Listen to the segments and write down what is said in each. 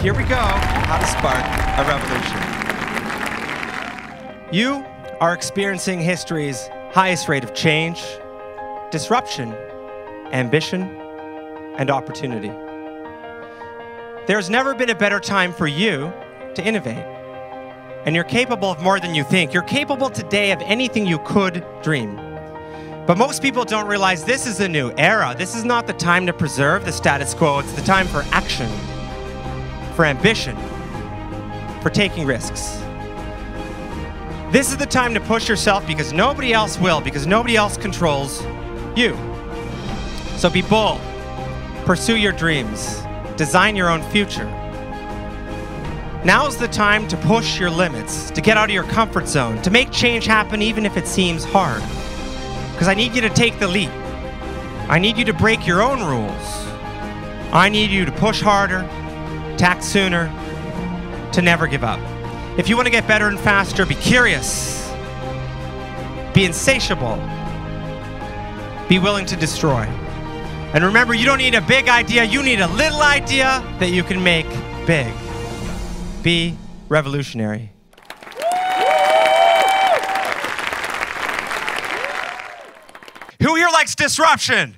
here we go. How to spark a revolution. You are experiencing history's highest rate of change, disruption, ambition, and opportunity. There's never been a better time for you to innovate. And you're capable of more than you think. You're capable today of anything you could dream. But most people don't realize this is a new era. This is not the time to preserve the status quo. It's the time for action, for ambition, for taking risks. This is the time to push yourself because nobody else will, because nobody else controls you. So be bold, pursue your dreams, design your own future. Now's the time to push your limits, to get out of your comfort zone, to make change happen even if it seems hard. Because I need you to take the leap. I need you to break your own rules. I need you to push harder, to act sooner, to never give up. If you want to get better and faster, be curious, be insatiable, be willing to destroy. And remember, you don't need a big idea, you need a little idea that you can make big. Be revolutionary. Who here likes disruption?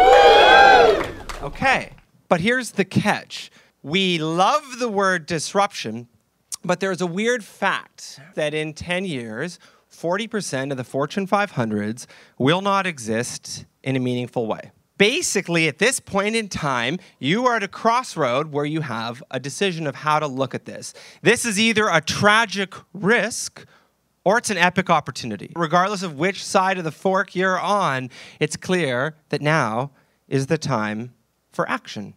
Okay, but here's the catch. We love the word disruption, but there's a weird fact that in 10 years, 40% of the Fortune 500s will not exist in a meaningful way. Basically, at this point in time, you are at a crossroad where you have a decision of how to look at this. This is either a tragic risk or it's an epic opportunity. Regardless of which side of the fork you're on, it's clear that now is the time for action.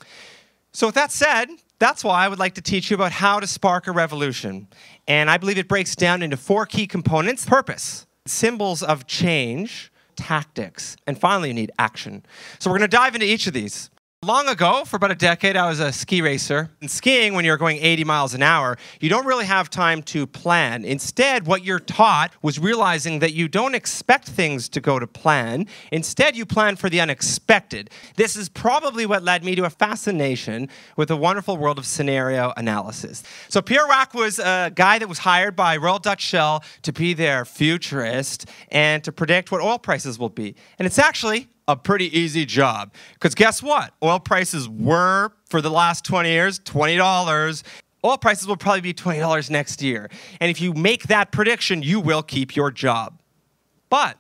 So with that said, that's why I would like to teach you about how to spark a revolution. And I believe it breaks down into 4 key components: purpose, symbols of change, tactics, and finally you need action. So we're going to dive into each of these. Long ago, for about a decade, I was a ski racer. In skiing, when you're going 80 miles an hour, you don't really have time to plan. Instead, what you're taught was realizing that you don't expect things to go to plan. Instead, you plan for the unexpected. This is probably what led me to a fascination with the wonderful world of scenario analysis. So Pierre Wack was a guy that was hired by Royal Dutch Shell to be their futurist and to predict what oil prices will be. And it's actually a pretty easy job. Because guess what? Oil prices were, for the last 20 years, $20. Oil prices will probably be $20 next year. And if you make that prediction, you will keep your job. But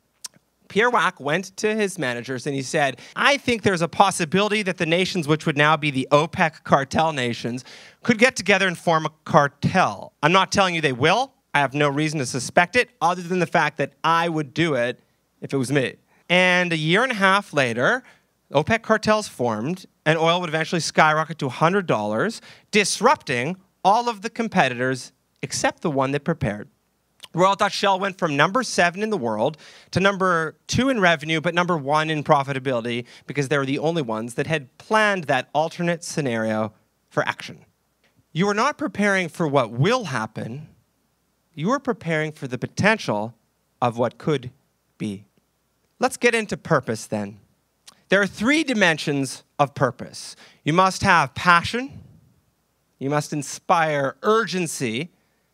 Pierre Wack went to his managers and he said, I think there's a possibility that the nations, which would now be the OPEC cartel nations, could get together and form a cartel. I'm not telling you they will. I have no reason to suspect it, other than the fact that I would do it if it was me. And a year and a half later, OPEC cartels formed, and oil would eventually skyrocket to $100, disrupting all of the competitors except the one that prepared. Royal Dutch Shell went from number 7 in the world to number 2 in revenue, but number 1 in profitability, because they were the only ones that had planned that alternate scenario for action. You are not preparing for what will happen. You are preparing for the potential of what could be. Let's get into purpose then. There are 3 dimensions of purpose. You must have passion, you must inspire urgency,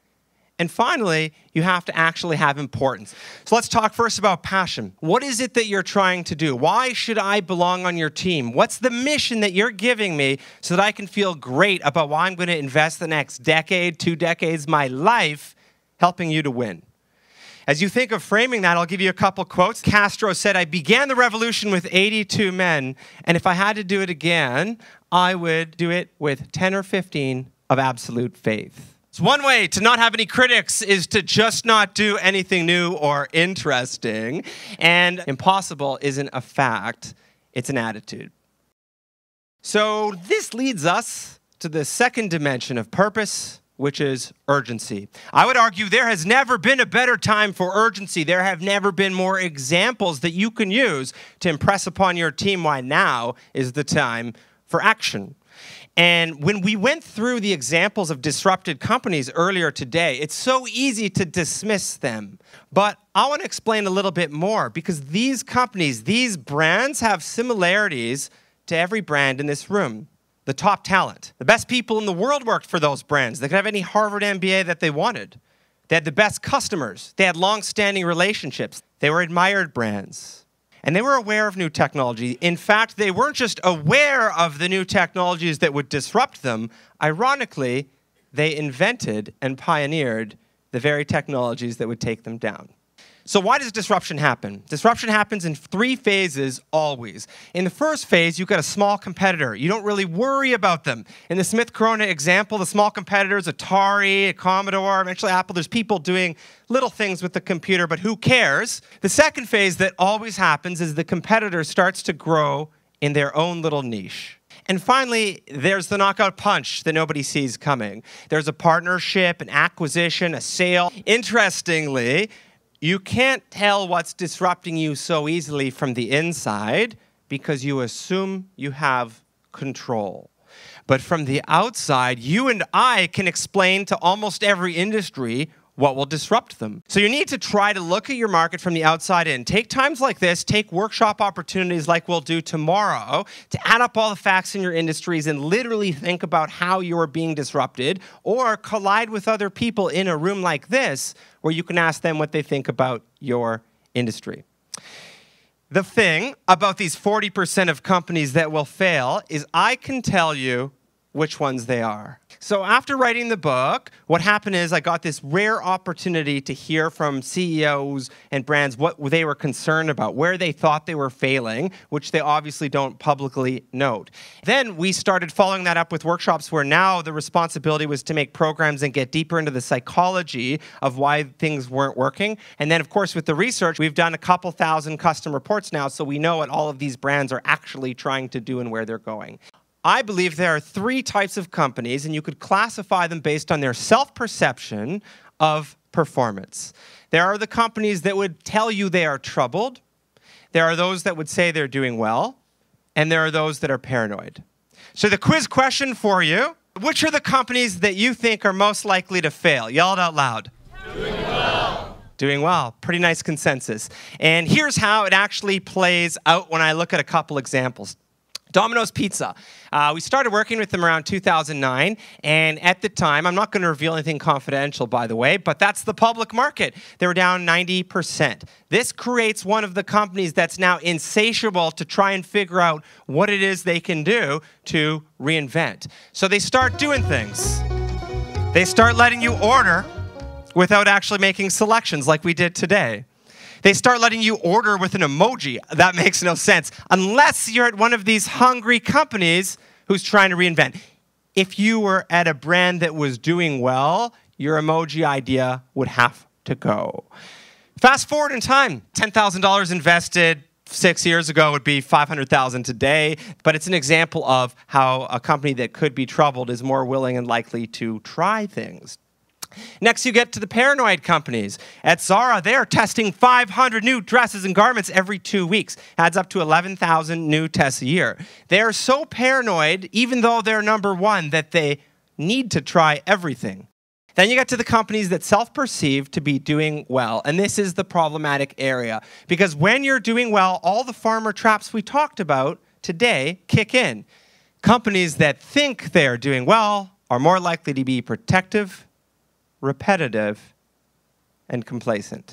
and finally, you have to actually have importance. So let's talk first about passion. What is it that you're trying to do? Why should I belong on your team? What's the mission that you're giving me so that I can feel great about why I'm going to invest the next decade, 2 decades, my life, helping you to win? As you think of framing that, I'll give you a couple quotes. Castro said, I began the revolution with 82 men, and if I had to do it again, I would do it with 10 or 15 of absolute faith. So one way to not have any critics is to just not do anything new or interesting. And impossible isn't a fact, it's an attitude. So this leads us to the second dimension of purpose, which is urgency. I would argue there has never been a better time for urgency. There have never been more examples that you can use to impress upon your team why now is the time for action. And when we went through the examples of disrupted companies earlier today, it's so easy to dismiss them. But I want to explain a little bit more, because these companies, these brands have similarities to every brand in this room. the top talent. The best people in the world worked for those brands. They could have any Harvard MBA that they wanted. They had the best customers. They had long-standing relationships. They were admired brands. And they were aware of new technology. In fact, they weren't just aware of the new technologies that would disrupt them. Ironically, they invented and pioneered the very technologies that would take them down. So why does disruption happen? Disruption happens in 3 phases always. In the first phase, you've got a small competitor. You don't really worry about them. In the Smith Corona example, the small competitors, Atari, Commodore, eventually Apple, there's people doing little things with the computer, but who cares? The second phase that always happens is the competitor starts to grow in their own little niche. And finally, there's the knockout punch that nobody sees coming. There's a partnership, an acquisition, a sale. Interestingly, you can't tell what's disrupting you so easily from the inside because you assume you have control. But from the outside, you and I can explain to almost every industry what will disrupt them. So you need to try to look at your market from the outside in. Take times like this, take workshop opportunities like we'll do tomorrow to add up all the facts in your industries and literally think about how you are being disrupted, or collide with other people in a room like this where you can ask them what they think about your industry. The thing about these 40% of companies that will fail is I can tell you which ones they are. So after writing the book, what happened is I got this rare opportunity to hear from CEOs and brands what they were concerned about, where they thought they were failing, which they obviously don't publicly note. Then we started following that up with workshops where now the responsibility was to make programs and get deeper into the psychology of why things weren't working. And then, of course, with the research, we've done a couple thousand custom reports now, so we know what all of these brands are actually trying to do and where they're going. I believe there are 3 types of companies, and you could classify them based on their self-perception of performance. There are the companies that would tell you they are troubled. There are those that would say they're doing well. And there are those that are paranoid. So the quiz question for you, which are the companies that you think are most likely to fail? Yell it out loud. Doing well. Doing well. Pretty nice consensus. And here's how it actually plays out when I look at a couple examples. Domino's Pizza. We started working with them around 2009, and at the time, I'm not going to reveal anything confidential, by the way, but that's the public market. They were down 90%. This creates one of the companies that's now insatiable to try and figure out what it is they can do to reinvent. So they start doing things. They start letting you order without actually making selections like we did today. They start letting you order with an emoji. That makes no sense unless you're at one of these hungry companies who's trying to reinvent. If you were at a brand that was doing well, your emoji idea would have to go. Fast forward in time, $10,000 invested 6 years ago would be $500,000 today, but it's an example of how a company that could be troubled is more willing and likely to try things. Next, you get to the paranoid companies. At Zara, they are testing 500 new dresses and garments every 2 weeks. Adds up to 11,000 new tests a year. They are so paranoid, even though they're number 1, that they need to try everything. Then you get to the companies that self-perceive to be doing well. And this is the problematic area. Because when you're doing well, all the farmer traps we talked about today kick in. Companies that think they're doing well are more likely to be protective, repetitive, and complacent.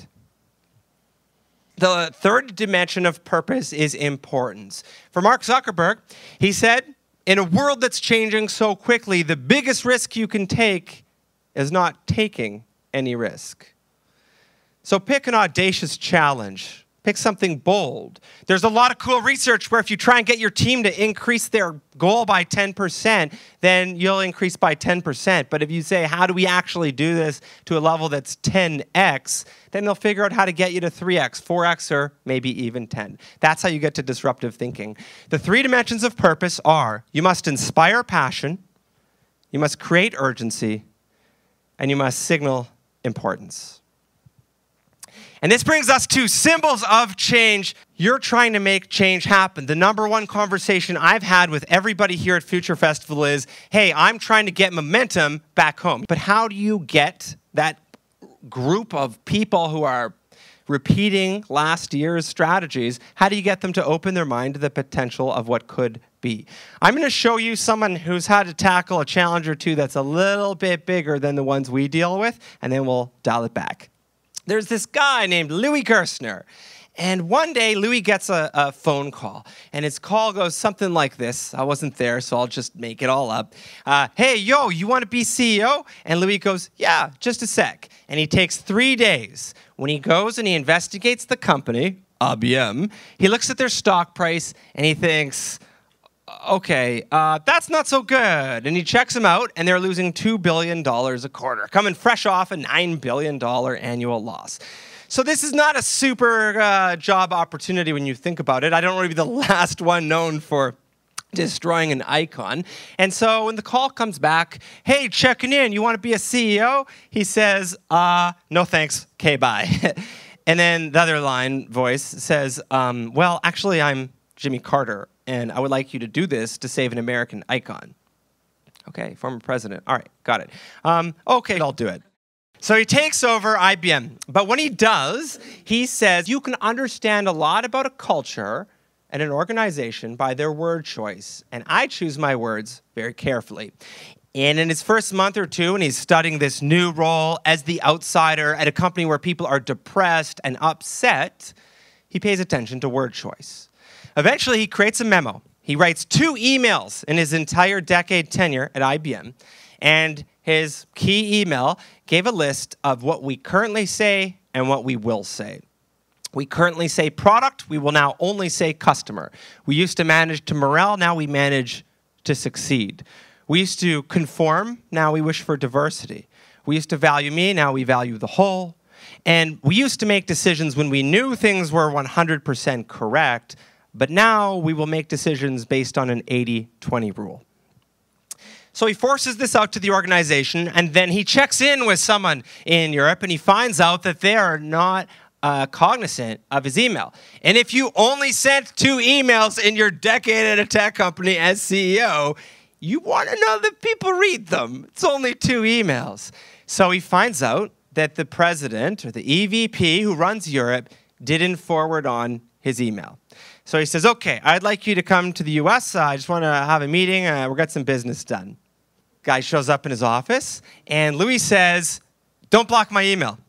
The third dimension of purpose is importance. For Mark Zuckerberg, he said, in a world that's changing so quickly, the biggest risk you can take is not taking any risk. So pick an audacious challenge. Pick something bold. There's a lot of cool research where if you try and get your team to increase their goal by 10%, then you'll increase by 10%. But if you say, how do we actually do this to a level that's 10x, then they'll figure out how to get you to 3x, 4x, or maybe even 10. That's how you get to disruptive thinking. The 3 dimensions of purpose are, you must inspire passion, you must create urgency, and you must signal importance. And this brings us to symbols of change. You're trying to make change happen. The number 1 conversation I've had with everybody here at Future Festival is, hey, I'm trying to get momentum back home. But how do you get that group of people who are repeating last year's strategies, how do you get them to open their mind to the potential of what could be. I'm going to show you someone who's had to tackle a challenge or two that's a little bit bigger than the ones we deal with, and then we'll dial it back. There's this guy named Louis Gerstner. And one day, Louis gets a phone call, and his call goes something like this. I wasn't there, so I'll just make it all up. Hey, yo, you want to be CEO? And Louis goes, yeah, just a sec. And he takes 3 days. When he goes and he investigates the company, IBM, he looks at their stock price, and he thinks, okay, that's not so good. And he checks them out, and they're losing $2 billion a quarter, coming fresh off a $9 billion annual loss. So this is not a super job opportunity when you think about it. I don't want to be the last one known for destroying an icon. And so when the call comes back, hey, checking in, you want to be a CEO? He says, no thanks, okay, bye. And then the other line voice says, well, actually, I'm Jimmy Carter, and I would like you to do this to save an American icon. Okay, former president. All right, got it. Okay, I'll do it. So he takes over IBM. But when he does, he says, you can understand a lot about a culture and an organization by their word choice. And I choose my words very carefully. And in his first month or two, and he's studying this new role as the outsider at a company where people are depressed and upset, he pays attention to word choice. Eventually, he creates a memo. He writes 2 emails in his entire decade tenure at IBM. And his key email gave a list of what we currently say and what we will say. We currently say product. We will now only say customer. We used to manage to morale. Now we manage to succeed. We used to conform. Now we wish for diversity. We used to value me. Now we value the whole. And we used to make decisions when we knew things were 100% correct. But now we will make decisions based on an 80-20 rule. So he forces this out to the organization, and then he checks in with someone in Europe, and he finds out that they are not cognizant of his email. And if you only sent 2 emails in your decade at a tech company as CEO, you want to know that people read them. It's only 2 emails. So he finds out that the president, or the EVP who runs Europe, didn't forward on his email. So he says, okay, I'd like you to come to the US. I just want to have a meeting. We'll get some business done. Guy shows up in his office, and Louis says, don't block my email.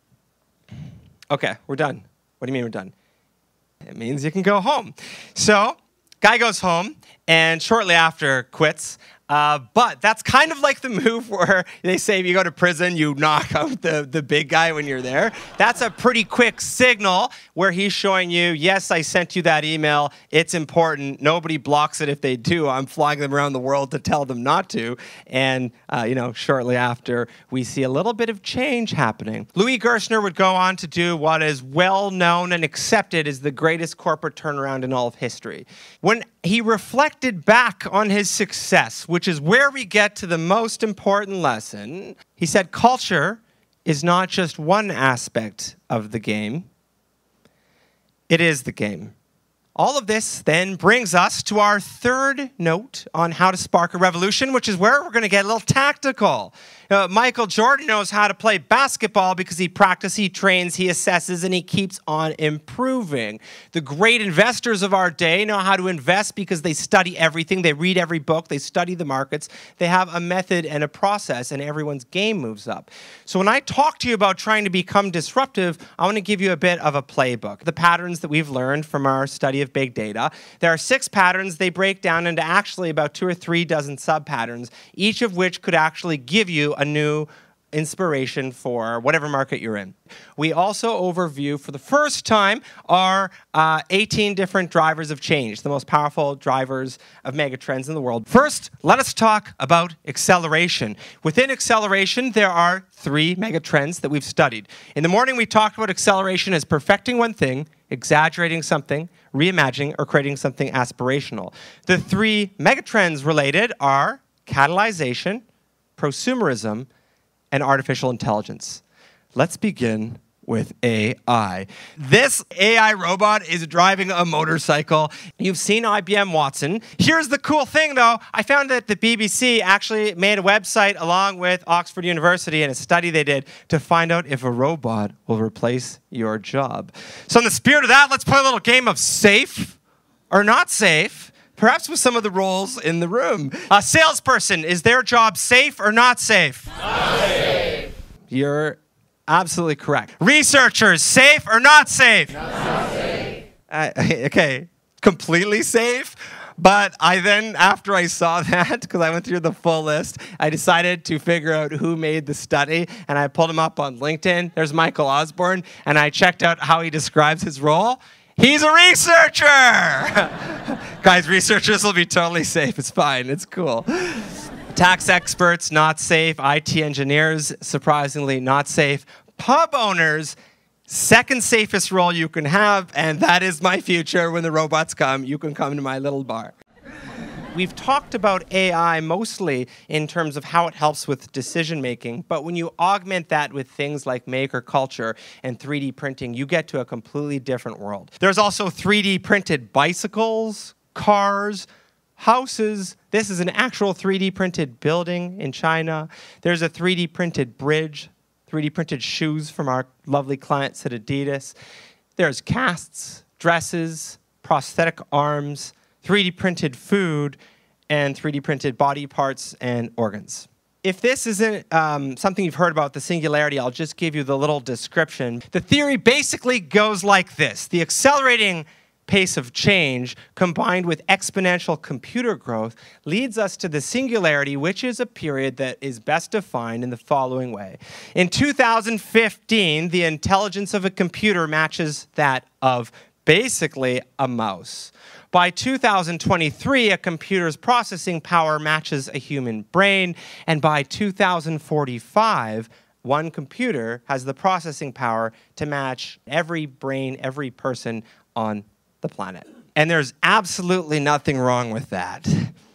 Okay, we're done. What do you mean we're done? It means you can go home. So guy goes home, and shortly after quits. But that's kind of like the move where they say if you go to prison, you knock out the big guy when you're there. That's a pretty quick signal where he's showing you, yes, I sent you that email. It's important. Nobody blocks it if they do. I'm flying them around the world to tell them not to. And, shortly after, we see a little bit of change happening. Louis Gerstner would go on to do what is well known and accepted as the greatest corporate turnaround in all of history. When he reflected back on his success, which is where we get to the most important lesson, he said culture is not just one aspect of the game. It is the game. All of this then brings us to our third note on how to spark a revolution, which is where we're going to get a little tactical. Michael Jordan knows how to play basketball because he practices, he trains, he assesses, and he keeps on improving. The great investors of our day know how to invest because they study everything, they read every book, they study the markets, they have a method and a process, and everyone's game moves up. So when I talk to you about trying to become disruptive, I want to give you a bit of a playbook. The patterns that we've learned from our study of big data. There are 6 patterns. They break down into actually about 2 or 3 dozen sub-patterns, each of which could actually give you a new inspiration for whatever market you're in. We also overview for the first time our 18 different drivers of change, the most powerful drivers of megatrends in the world. First, let us talk about acceleration. Within acceleration, there are 3 megatrends that we've studied. In the morning, we talked about acceleration as perfecting one thing, exaggerating something, reimagining, or creating something aspirational. The 3 megatrends related are catalyzation, prosumerism, and artificial intelligence. Let's begin with AI. This AI robot is driving a motorcycle. You've seen IBM Watson. Here's the cool thing, though. I found that the BBC actually made a website along with Oxford University and a study they did to find out if a robot will replace your job. So in the spirit of that, let's play a little game of safe or not safe. perhaps with some of the roles in the room. A salesperson, is their job safe or not safe? Not safe. You're absolutely correct. Researchers, safe or not safe? Not safe. Okay, completely safe. But I then, after I saw that, because I went through the full list, I decided to figure out who made the study, and I pulled him up on LinkedIn. There's Michael Osborne, and I checked out how he describes his role. He's a researcher! Guys, researchers will be totally safe. It's fine. It's cool. Tax experts, not safe. IT engineers, surprisingly, not safe. Pub owners, second safest role you can have, and that is my future. When the robots come, you can come to my little bar. We've talked about AI mostly in terms of how it helps with decision making, but when you augment that with things like maker culture and 3D printing, you get to a completely different world. There's also 3D printed bicycles, cars, houses. This is an actual 3D printed building in China. There's a 3D printed bridge, 3D printed shoes from our lovely clients at Adidas. There's casts, dresses, prosthetic arms, 3D printed food, and 3D printed body parts and organs. If this isn't something you've heard about, the singularity, I'll just give you the little description. The theory basically goes like this. The accelerating pace of change combined with exponential computer growth leads us to the singularity, which is a period that is best defined in the following way. In 2015, the intelligence of a computer matches that of basically a mouse. By 2023, a computer's processing power matches a human brain, and by 2045, one computer has the processing power to match every brain, every person on the planet. And there's absolutely nothing wrong with that.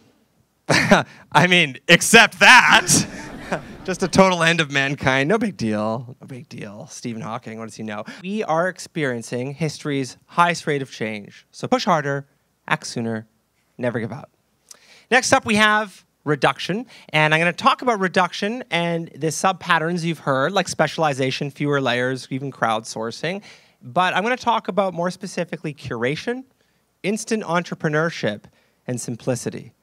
I mean, except that. Just a total end of mankind. No big deal. No big deal. Stephen Hawking, what does he know? We are experiencing history's highest rate of change. So push harder, act sooner, never give up. Next up, we have reduction. And I'm going to talk about reduction and the sub-patterns you've heard, like specialization, fewer layers, even crowdsourcing. But I'm going to talk about more specifically curation, instant entrepreneurship, and simplicity.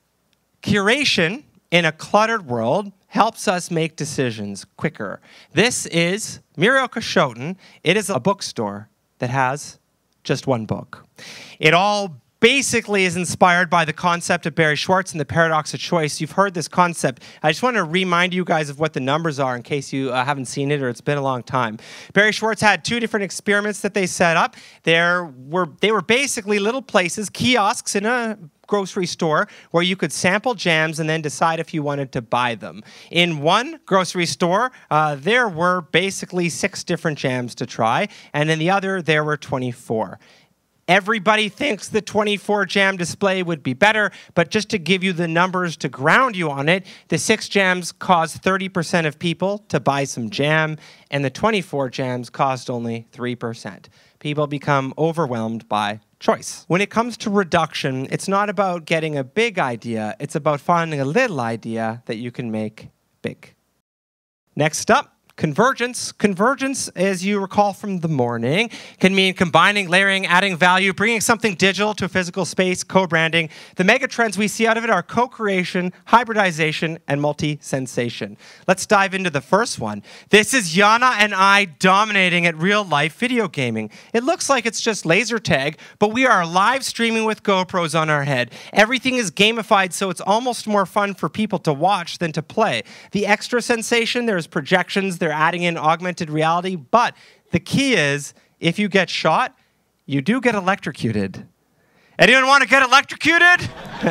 Curation in a cluttered world helps us make decisions quicker. This is Muriel Kashoten. It is a bookstore that has just one book. It all basically is inspired by the concept of Barry Schwartz and the paradox of choice. You've heard this concept. I just want to remind you guys of what the numbers are in case you haven't seen it or it's been a long time. Barry Schwartz had two different experiments that they set up. They were basically little places, kiosks in a grocery store where you could sample jams and then decide if you wanted to buy them. In one grocery store, there were basically 6 different jams to try, and in the other, there were 24. Everybody thinks the 24 jam display would be better, but just to give you the numbers to ground you on it, the 6 jams caused 30% of people to buy some jam, and the 24 jams cost only 3%. People become overwhelmed by choice. When it comes to reduction, it's not about getting a big idea, it's about finding a little idea that you can make big. Next up, convergence. Convergence, as you recall from the morning, can mean combining, layering, adding value, bringing something digital to a physical space, co-branding. The mega trends we see out of it are co-creation, hybridization, and multi-sensation. Let's dive into the first one. This is Yana and I dominating at real-life video gaming. It looks like it's just laser tag, but we are live streaming with GoPros on our head. Everything is gamified, so it's almost more fun for people to watch than to play. The extra sensation, there's projections, they're adding in augmented reality, but the key is, if you get shot, you do get electrocuted. Anyone want to get electrocuted?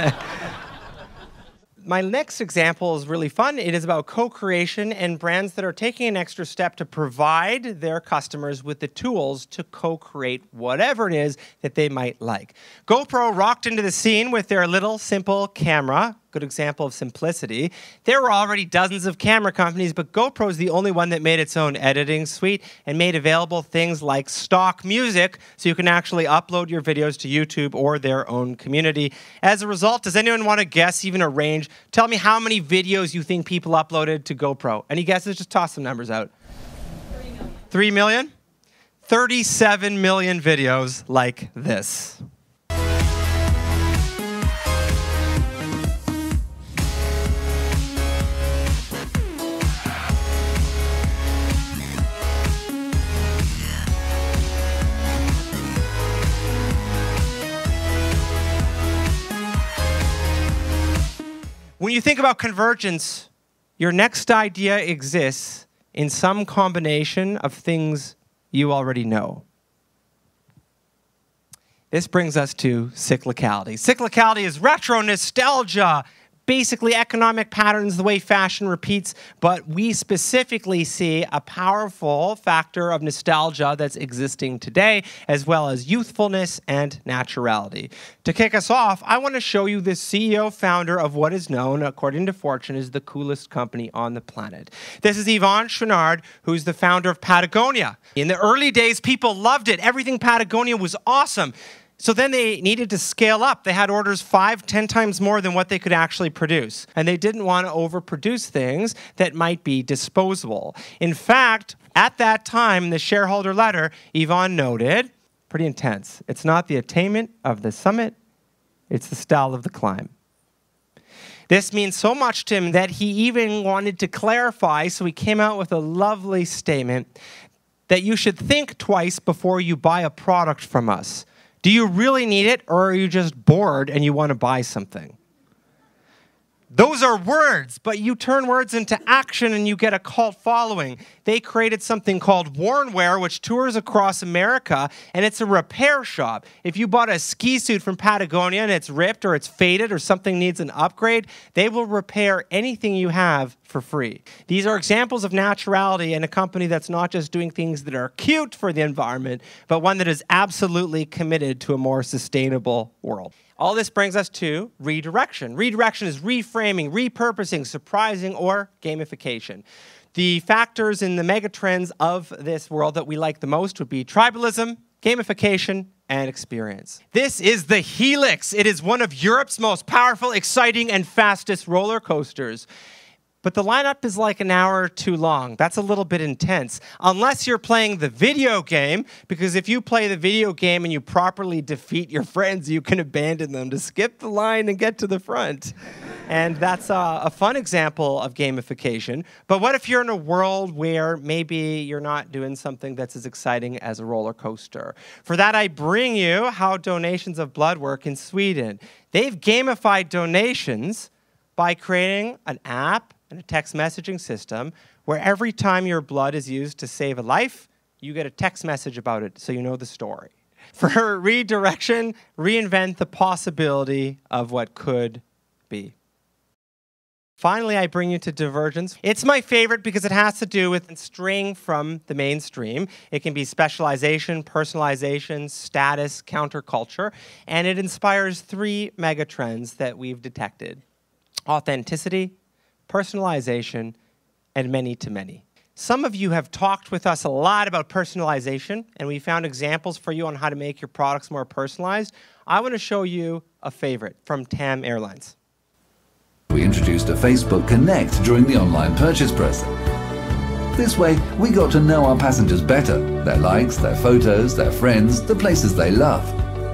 My next example is really fun. It is about co-creation and brands that are taking an extra step to provide their customers with the tools to co-create whatever it is that they might like. GoPro rocked into the scene with their little simple camera. Good example of simplicity. There were already dozens of camera companies, but GoPro is the only one that made its own editing suite and made available things like stock music, so you can actually upload your videos to YouTube or their own community. As a result, does anyone want to guess even a range? Tell me how many videos you think people uploaded to GoPro. Any guesses? Just toss some numbers out. 3 million. 3 million? 37 million videos like this. When you think about convergence, your next idea exists in some combination of things you already know. This brings us to cyclicality. Cyclicality is retro nostalgia, basically economic patterns, the way fashion repeats, but we specifically see a powerful factor of nostalgia that's existing today, as well as youthfulness and naturality. To kick us off, I want to show you the CEO founder of what is known, according to Fortune, as the coolest company on the planet. This is Yvon Chouinard, who's the founder of Patagonia. In the early days, people loved it. Everything Patagonia was awesome. So then they needed to scale up. They had orders 5, 10 times more than what they could actually produce. And they didn't want to overproduce things that might be disposable. In fact, at that time, in the shareholder letter, Yvon noted, pretty intense, it's not the attainment of the summit, it's the style of the climb. This means so much to him that he even wanted to clarify, so he came out with a lovely statement that you should think twice before you buy a product from us. Do you really need it, or are you just bored and you want to buy something? Those are words, but you turn words into action and you get a cult following. They created something called Wornwear, which tours across America, and it's a repair shop. If you bought a ski suit from Patagonia and it's ripped or it's faded or something needs an upgrade, they will repair anything you have for free. These are examples of naturality and a company that's not just doing things that are cute for the environment, but one that is absolutely committed to a more sustainable world. All this brings us to redirection. Redirection is reframing, repurposing, surprising, or gamification. The factors in the megatrends of this world that we like the most would be tribalism, gamification, and experience. This is the Helix. It is one of Europe's most powerful, exciting, and fastest roller coasters. But the lineup is like an hour too long. That's a little bit intense. Unless you're playing the video game, because if you play the video game and you properly defeat your friends, you can abandon them to skip the line and get to the front. And that's a fun example of gamification. But what if you're in a world where maybe you're not doing something that's as exciting as a roller coaster? For that, I bring you how donations of blood work in Sweden. They've gamified donations by creating an app and a text messaging system where every time your blood is used to save a life, you get a text message about it so you know the story. For redirection, reinvent the possibility of what could be. Finally, I bring you to divergence. It's my favorite because it has to do with straying from the mainstream. It can be specialization, personalization, status, counterculture, and it inspires 3 megatrends that we've detected: authenticity, personalization, and many-to-many. Some of you have talked with us a lot about personalization, and we found examples for you on how to make your products more personalized. I want to show you a favorite from TAM Airlines. We introduced a Facebook Connect during the online purchase process. This way, we got to know our passengers better, their likes, their photos, their friends, the places they love.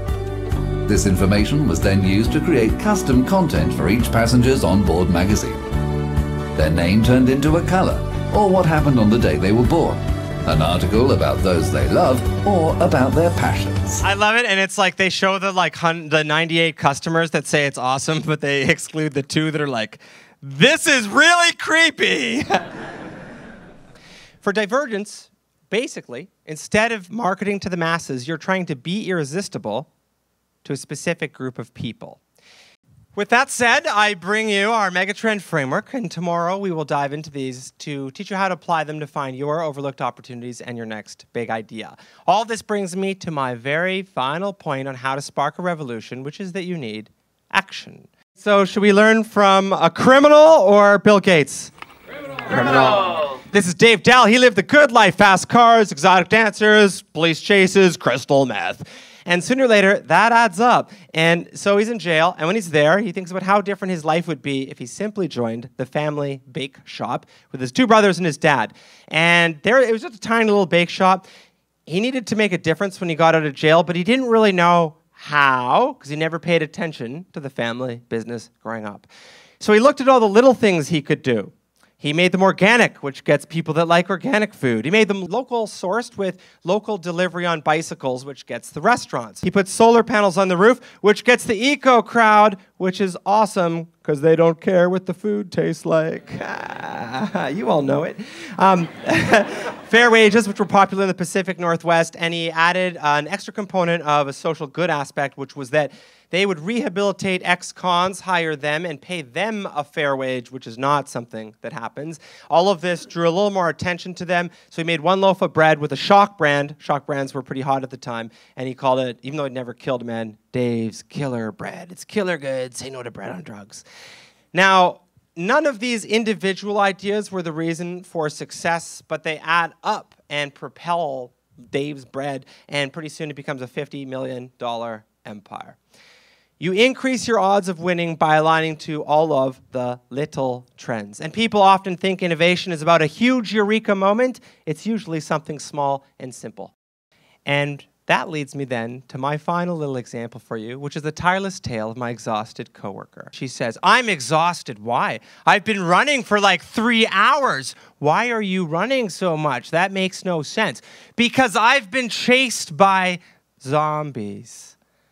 This information was then used to create custom content for each passenger's onboard magazine. Their name turned into a color, or what happened on the day they were born, an article about those they love, or about their passions. I love it, and it's like they show the 98 customers that say it's awesome, but they exclude the 2 that are like, this is really creepy. For divergence, basically, instead of marketing to the masses, you're trying to be irresistible to a specific group of people. With that said, I bring you our Megatrend Framework, and tomorrow we will dive into these to teach you how to apply them to find your overlooked opportunities and your next big idea. All this brings me to my very final point on how to spark a revolution, which is that you need action. So should we learn from a criminal or Bill Gates? Criminal. This is Dave Dahl. He lived the good life: fast cars, exotic dancers, police chases, crystal meth. And sooner or later, that adds up. And so he's in jail, and when he's there, he thinks about how different his life would be if he simply joined the family bake shop with his 2 brothers and his dad. And there, it was just a tiny little bake shop. He needed to make a difference when he got out of jail, but he didn't really know how, because he never paid attention to the family business growing up. So he looked at all the little things he could do. He made them organic, which gets people that like organic food. He made them local sourced with local delivery on bicycles, which gets the restaurants. He put solar panels on the roof, which gets the eco crowd, which is awesome because they don't care what the food tastes like. You all know it. Fair wages, which were popular in the Pacific Northwest, and he added an extra component of a social good aspect, which was that they would rehabilitate ex-cons, hire them, and pay them a fair wage, which is not something that happens. All of this drew a little more attention to them, so he made one loaf of bread with a shock brand. Shock brands were pretty hot at the time, and he called it, even though it never killed a man, Dave's Killer Bread. It's killer good. Say no to bread on drugs. Now, none of these individual ideas were the reason for success, but they add up and propel Dave's Bread, and pretty soon it becomes a $50 million empire. You increase your odds of winning by aligning to all of the little trends. And people often think innovation is about a huge eureka moment. It's usually something small and simple. And that leads me then to my final little example for you, which is the tireless tale of my exhausted coworker. She says, "I'm exhausted. Why? I've been running for like 3 hours. Why are you running so much? That makes no sense. Because I've been chased by zombies."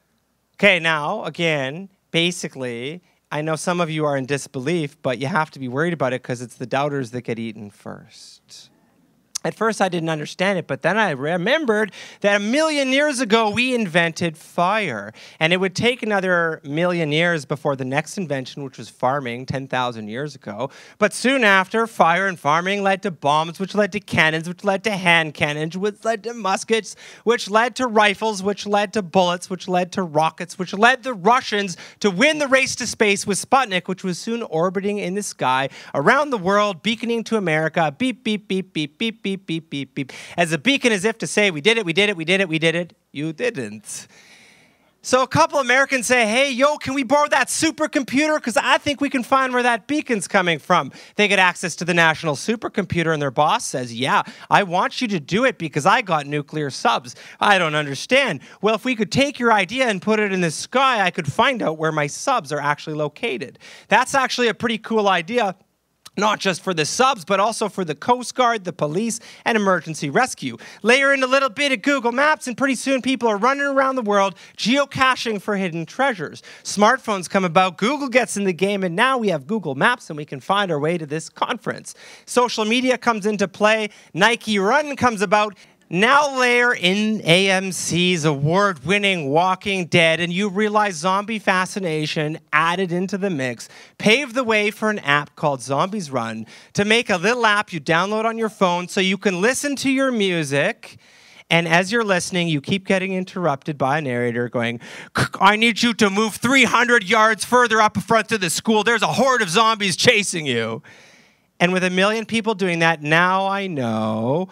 Okay, now, again, basically, I know some of you are in disbelief, but you have to be worried about it because it's the doubters that get eaten first. At first, I didn't understand it, but then I remembered that 1,000,000 years ago, we invented fire. And it would take another 1,000,000 years before the next invention, which was farming 10,000 years ago. But soon after, fire and farming led to bombs, which led to cannons, which led to hand cannons, which led to muskets, which led to rifles, which led to bullets, which led to rockets, which led the Russians to win the race to space with Sputnik, which was soon orbiting in the sky around the world, beaconing to America, beep, beep, beep, beep, beep, beep, beep, beep, beep. As a beacon as if to say, we did it, we did it, we did it, we did it. You didn't. So a couple Americans say, hey, yo, can we borrow that supercomputer? Because I think we can find where that beacon's coming from. They get access to the national supercomputer, and their boss says, yeah, I want you to do it because I got nuclear subs. I don't understand. Well, if we could take your idea and put it in the sky, I could find out where my subs are actually located. That's actually a pretty cool idea. Not just for the subs, but also for the Coast Guard, the police, and emergency rescue. Layer in a little bit of Google Maps, and pretty soon people are running around the world geocaching for hidden treasures. Smartphones come about, Google gets in the game, and now we have Google Maps, and we can find our way to this conference. Social media comes into play, Nike Run comes about. Now layer in AMC's award-winning Walking Dead, and you realize zombie fascination added into the mix paved the way for an app called Zombies Run to make a little app you download on your phone so you can listen to your music. And as you're listening, you keep getting interrupted by a narrator going, I need you to move 300 yards further up in front of the school. There's a horde of zombies chasing you. And with 1 million people doing that, now I know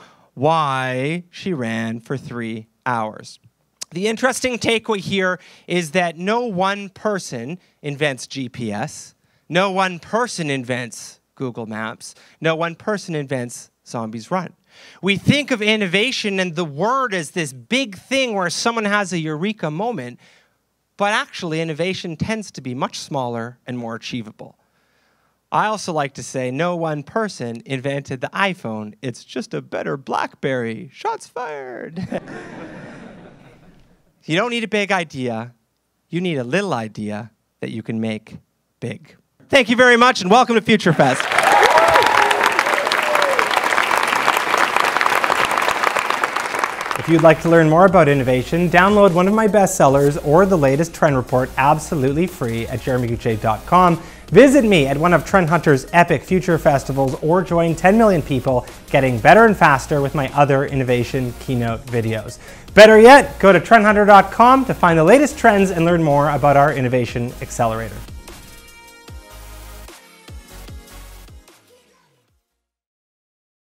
why she ran for 3 hours. The interesting takeaway here is that no one person invents GPS. No one person invents Google Maps. No one person invents Zombies Run. We think of innovation and the word as this big thing where someone has a eureka moment, but actually innovation tends to be much smaller and more achievable. I also like to say no one person invented the iPhone. It's just a better BlackBerry. Shots fired. You don't need a big idea. You need a little idea that you can make big. Thank you very much, and welcome to Future Fest. If you'd like to learn more about innovation, download one of my bestsellers or the latest trend report absolutely free at jeremyguche.com. Visit me at one of Trend Hunter's epic future festivals or join 10 million people getting better and faster with my other innovation keynote videos. Better yet, go to trendhunter.com to find the latest trends and learn more about our innovation accelerator.